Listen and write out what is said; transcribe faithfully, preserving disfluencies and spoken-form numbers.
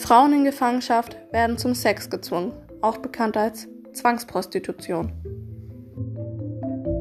Frauen in Gefangenschaft werden zum Sex gezwungen, auch bekannt als Zwangsprostitution.